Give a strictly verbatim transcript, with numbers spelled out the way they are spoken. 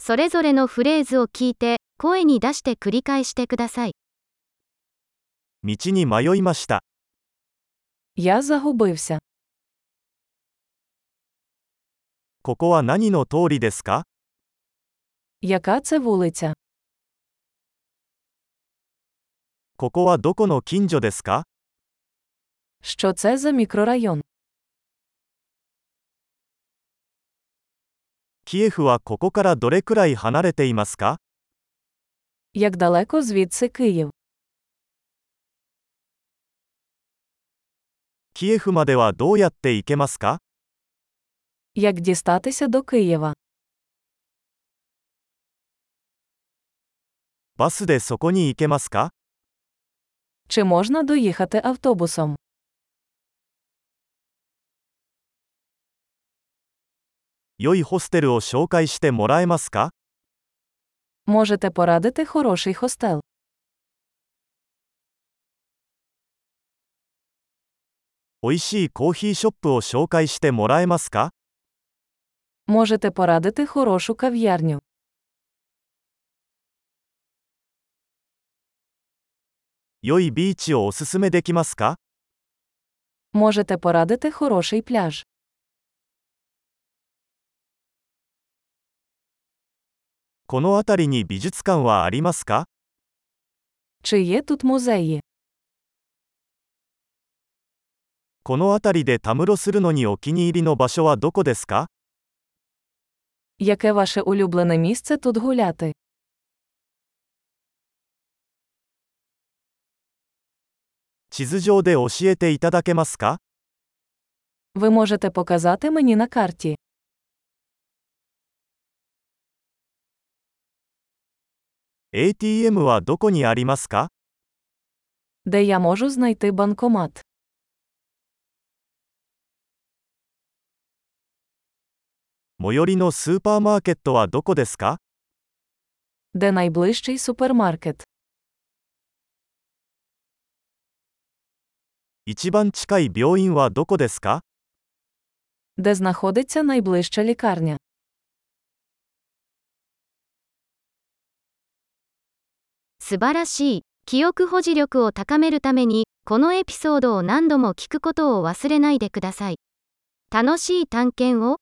それぞれのフレーズを聞いて、声に出して繰り返してください。 道に迷いました。 Я загубився. ここは何の通りですか？ Яка це вулиця? ここはどこの近所ですか？ Що це за мікрорайон? キエフはここからどれくらい離れていますか？ Як далеко звідси Київ? キエフまではどうやって行けますか？ Як дістатися до Києва? バスでそこに行けますか？ Чи можна доїхати автобусом? 良いホステルを紹介してもらえますか？ Можете порадити хороший хостел? 美味しいコーヒーショップを紹介してもらえますか？ Можете порадити хорошу кав'ярню? 良いビーチをおすすめできますか？ Можете порадити хороший пляж? この辺りに美術館はありますか？ Чи є тут музеї? この辺りでたむろするのにお気に入りの場所はどこですか？ Яке ваше улюблене місце тут гуляти? 地図上で教えていただけますか？ Ви можете показати мені на карті. エーティーエム はどこにありますか？ Де я можу знайти банкомат? 最寄りのスーパーマーケットはどこですか？ Де найближчий супермаркет? 一番近い病院はどこですか？ Де знаходиться найближча лікарня? 素晴らしい。記憶保持力を高めるために、このエピソードを何度も聞くことを忘れないでください。楽しい探検を。